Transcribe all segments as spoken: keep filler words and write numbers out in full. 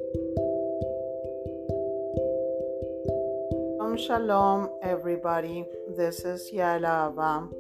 Shalom, shalom, everybody. This is Yaela Ava.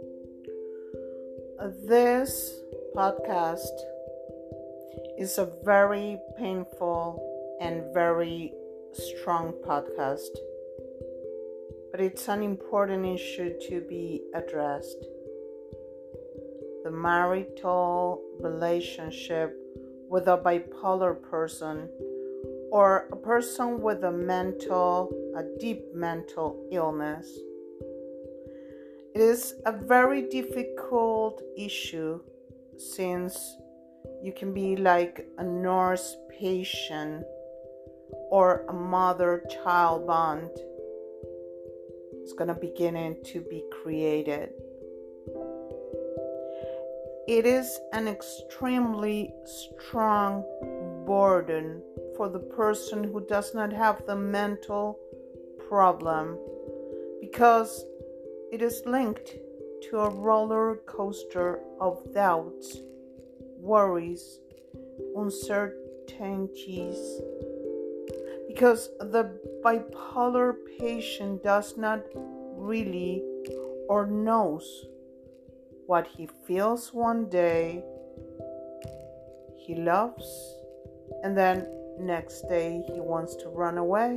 This podcast is a very painful and very strong podcast, but it's an important issue to be addressed. The marital relationship with a bipolar person or a person with a mental, a deep mental illness. It is a very difficult issue since you can be like a nurse patient or a mother-child bond is going to begin to be created. It is an extremely strong burden for the person who does not have the mental problem because it is linked to a roller coaster of doubts, worries, uncertainties, because the bipolar patient does not really or knows what he feels one day he loves, and then next day he wants to run away.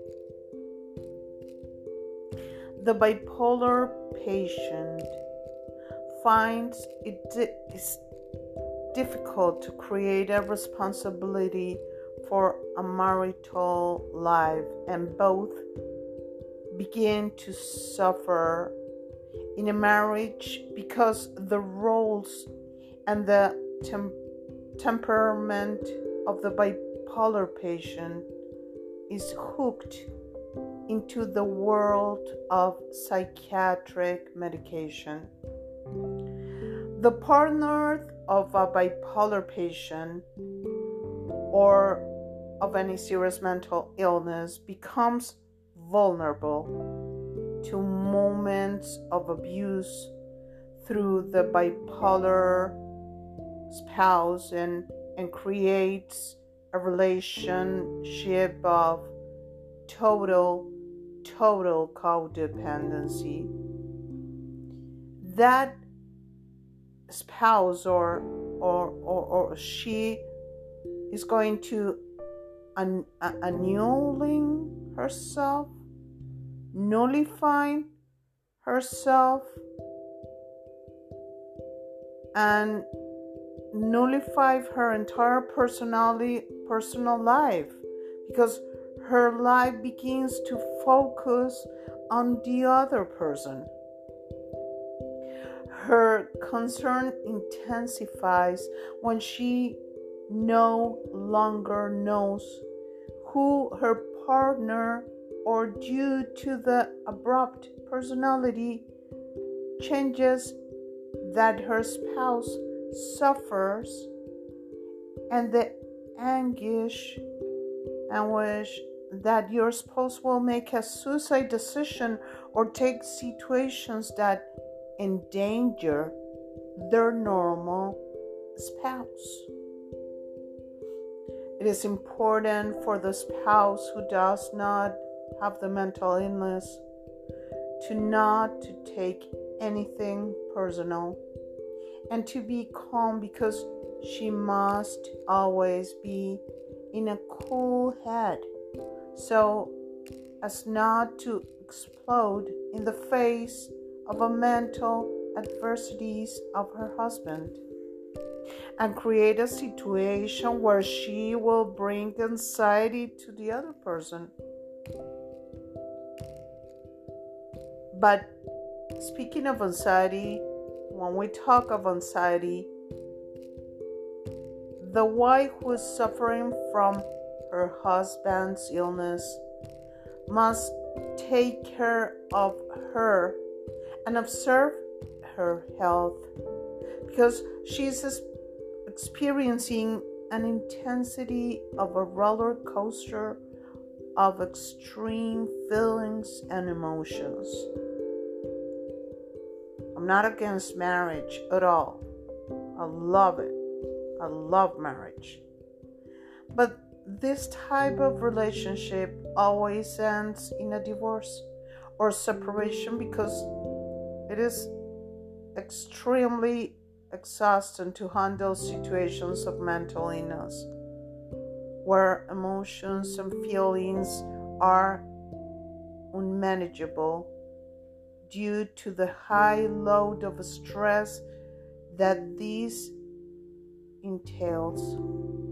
The bipolar patient finds it is difficult to create a responsibility for a marital life, and both begin to suffer in a marriage because the roles and the tem- temperament of the bipolar patient is hooked into the world of psychiatric medication. The partner of a bipolar patient or of any serious mental illness becomes vulnerable to moments of abuse through the bipolar spouse and, and creates a relationship of total, total codependency. That spouse or or or, or she is going to an, annulling herself, nullifying herself, and nullify her entire personality, personal life, because her life begins to focus on the other person. Her concern intensifies when she no longer knows who her partner, or due to the abrupt personality changes that her spouse suffers, and the anguish and wish that your spouse will make a suicide decision or take situations that endanger their normal spouse. It is important for the spouse who does not have the mental illness to not to take anything personal and to be calm, because she must always be in a cool head so as not to explode in the face of a mental adversities of her husband and create a situation where she will bring anxiety to the other person. But speaking of anxiety, when we talk of anxiety, the wife who is suffering from her husband's illness must take care of her and observe her health, because she's experiencing an intensity of a roller coaster of extreme feelings and emotions. I'm not against marriage at all. I love it. I love marriage. But this type of relationship always ends in a divorce or separation because it is extremely exhausting to handle situations of mental illness where emotions and feelings are unmanageable due to the high load of stress that this entails.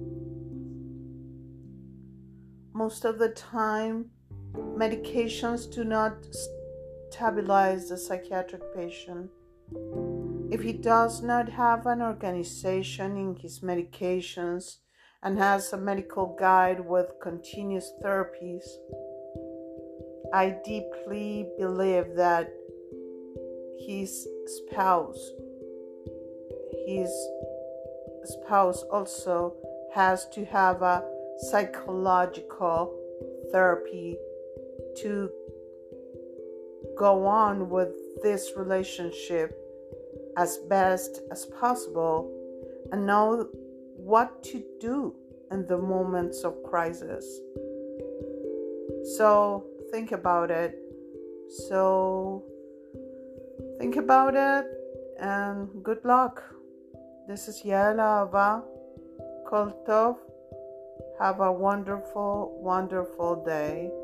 Most of the time, medications do not stabilize the psychiatric patient. If he does not have an organization in his medications and has a medical guide with continuous therapies, I deeply believe that his spouse, his spouse also has to have a psychological therapy to go on with this relationship as best as possible and know what to do in the moments of crisis. So think about it. So think about it and good luck. This is Yael Ava Koltov. Have a wonderful, wonderful day.